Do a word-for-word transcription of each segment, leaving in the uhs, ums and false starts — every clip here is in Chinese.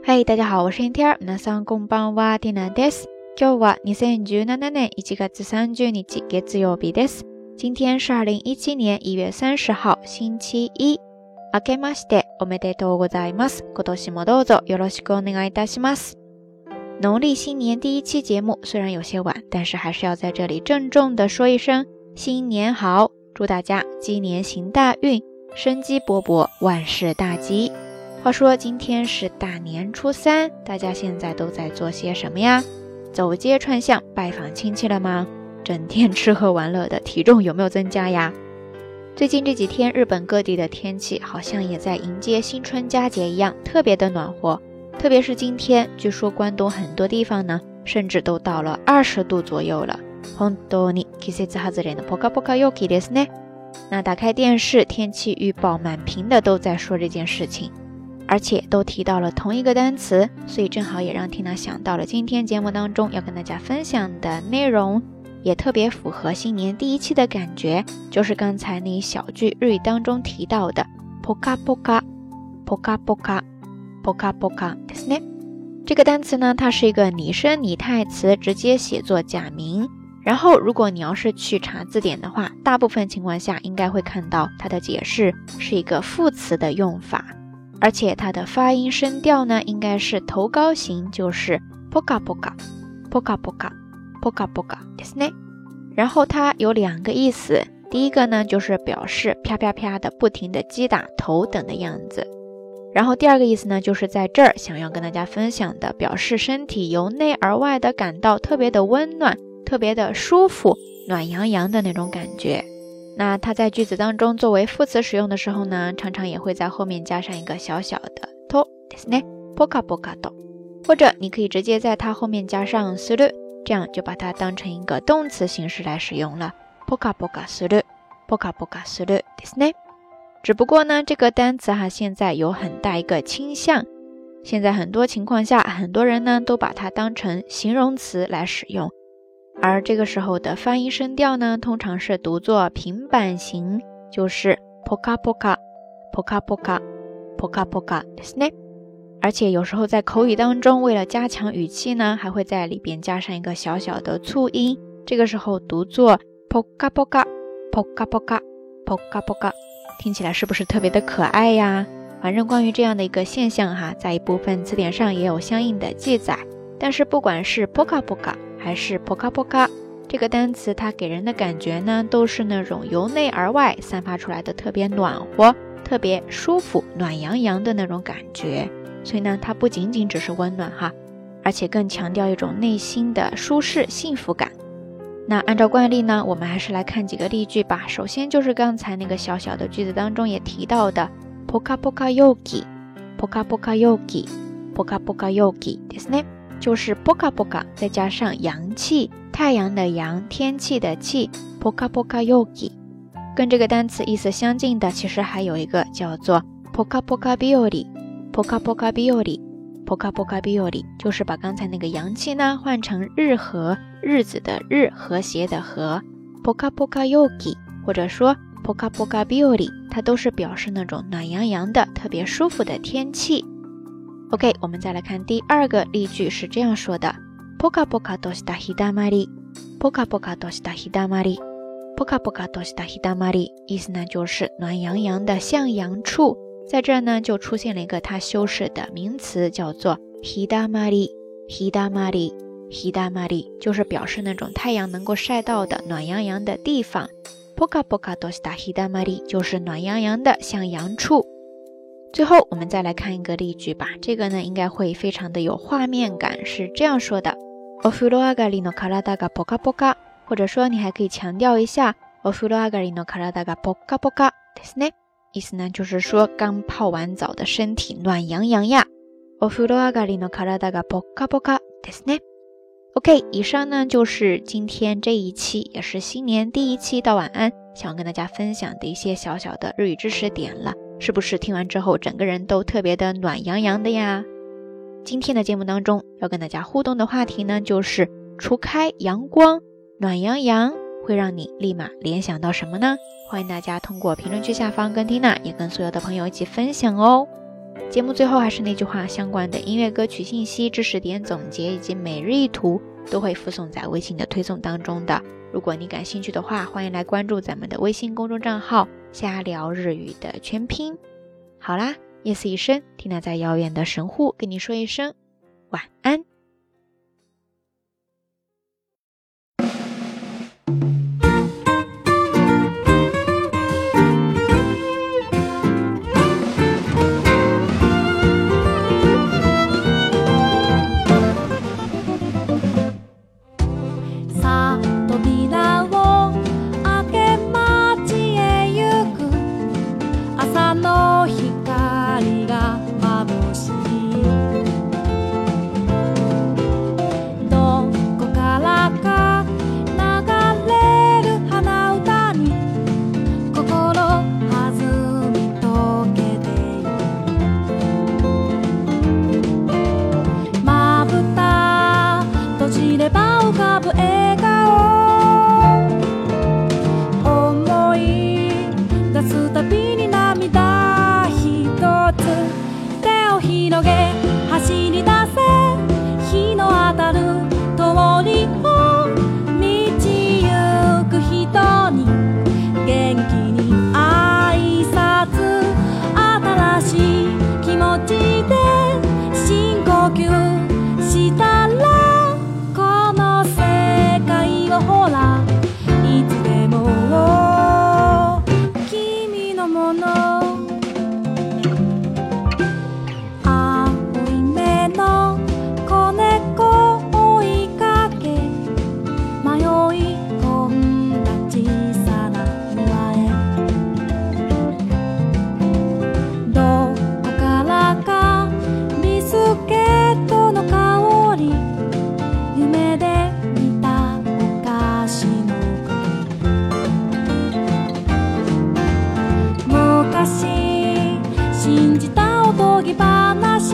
嗨，大家好，我是 エンティア。皆さんこんばんは、ティナです。今日はにせんじゅうななねんいちがつさんじゅうにち月曜日です。今天是二零一七年一月三十号星期一。明けましておめでとうございます。今年もどうぞよろしくお願いいたします。农历新年第一期节目虽然有些晚，但是还是要在这里郑重的说一声新年好，祝大家鸡年行大运，生机勃勃，万事大吉。话说今天是大年初三，大家现在都在做些什么呀？走街串巷拜访亲戚了吗？整天吃喝玩乐的体重有没有增加呀？最近这几天日本各地的天气好像也在迎接新春佳节一样，特别的暖和。特别是今天，据说关东很多地方呢，甚至都到了二十度左右了。本当に季節外れのポカポカ陽気ですね。那打开电视，天气预报满屏的都在说这件事情。而且都提到了同一个单词，所以正好也让 Tina 想到了今天节目当中要跟大家分享的内容，也特别符合新年第一期的感觉，就是刚才那一小句日语当中提到的ポカポカポカポカポカポカですね。这个单词呢，它是一个拟声拟态词，直接写作假名。然后如果你要是去查字典的话，大部分情况下应该会看到它的解释是一个副词的用法。而且它的发音声调呢，应该是头高型，就是ポカポカポカポカポカポカですね。然后它有两个意思，第一个呢就是表示啪啪啪的不停的击打头等的样子，然后第二个意思呢就是在这儿想要跟大家分享的，表示身体由内而外的感到特别的温暖，特别的舒服，暖洋洋的那种感觉。那它在句子当中作为副词使用的时候呢，常常也会在后面加上一个小小的とですね、ポカポカと，或者你可以直接在它后面加上する，这样就把它当成一个动词形式来使用了。ポカポカする、ポカポカするですね。只不过呢，这个单词哈现在有很大一个倾向，现在很多情况下，很多人呢都把它当成形容词来使用。而这个时候的发音声调呢，通常是读作平板型，就是ポカポカポカポカポカポカですね。而且有时候在口语当中，为了加强语气呢，还会在里边加上一个小小的促音，这个时候读作ポカポカポカポカポカポカ，听起来是不是特别的可爱呀？反正关于这样的一个现象哈，在一部分词典上也有相应的记载。但是不管是ポカポカ还是ポカポカ，这个单词它给人的感觉呢，都是那种由内而外散发出来的特别暖和、特别舒服、暖洋洋的那种感觉。所以呢，它不仅仅只是温暖哈，而且更強調一種內心的舒適幸福感。那按照慣例呢，我們還是來看幾個例句吧。首先就是剛才那個小小的句子當中也提到的ポカポカ陽気、ポカポカ陽気、ポカポカ陽気ですね。就是ポカポカ再加上陽氣，太陽的陽，天氣的氣，ポカポカ陽気。跟這個單詞意思相近的，其實還有一個叫做ポカポカ日和。ポカポカ日和、ポカポカ日和，就是把剛才那個陽氣呢換成日和，日子的日，和諧的和。ポカポカ陽気或者說ポカポカ日和，它都是表示那種暖洋洋的特別舒服的天氣。OK， 我們再來看第二個例句是這樣說的，ポカポカとした日だまり、ポカポカとした日だまり、ポカポカとした日だまり，意思呢就是暖洋洋的向陽處。在這兒呢就出現了一個它修飾的名詞，叫做日だまり、日だまり、日だまり，就是表示那種太陽能夠曬到的暖洋洋的地方。ポカポカとした日だまり就是暖洋洋的向陽處。最後我們再來看一個例句吧，這個呢應該會非常的有畫面感，是這樣說的，お風呂上がりの體がポカポカ，或者說你還可以強調一下お風呂上がりの體がポカポカですね。意思呢就是說剛泡完澡的身體暖洋洋呀。お風呂上がりの體がポカポカですね。OK， 以上呢就是今天这一期，也是新年第一期到晚安想要跟大家分享的一些小小的日语知識點了，是不是聽完之後整個人都特別的暖洋洋的呀？今天的節目當中要跟大家互動的話題呢，就是除開陽光，暖洋洋會讓你立馬聯想到什麼呢？歡迎大家通過評論區下方跟 Tina 也跟所有的朋友一起分享哦。 节目最后还是那句话，相关的音乐歌曲信息、知识点总结以及每日一图都会附送在微信的推送当中的。如果你感兴趣的话，欢迎来关注咱们的微信公众账号瞎聊日语的全拼。好啦，夜色已深，缇娜在遥远的神户跟你说一声晚安。信じたおとぎ話、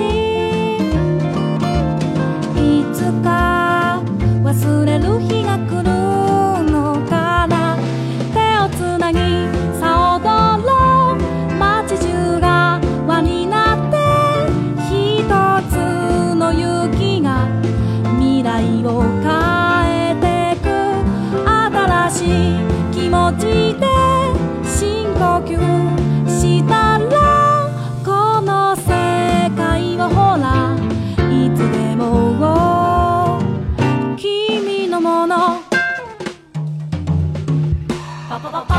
いつか忘れる日が来るのかな。手をつなぎさ踊ろう、街中が輪になって一つの雪が未来を変えてく。新しい気持ちで深呼吸したら、この世界はほらいつでも君のもの。パパパパ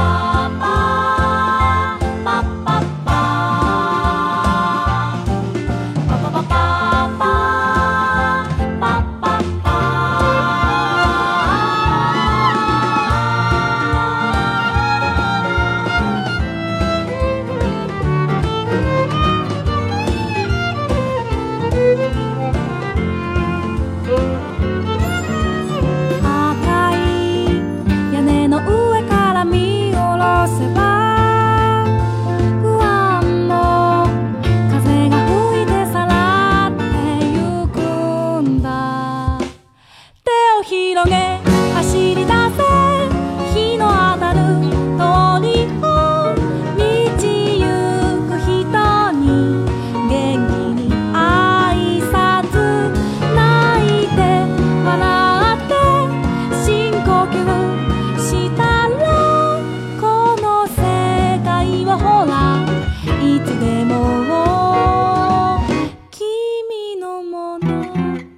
いつでも君のもの。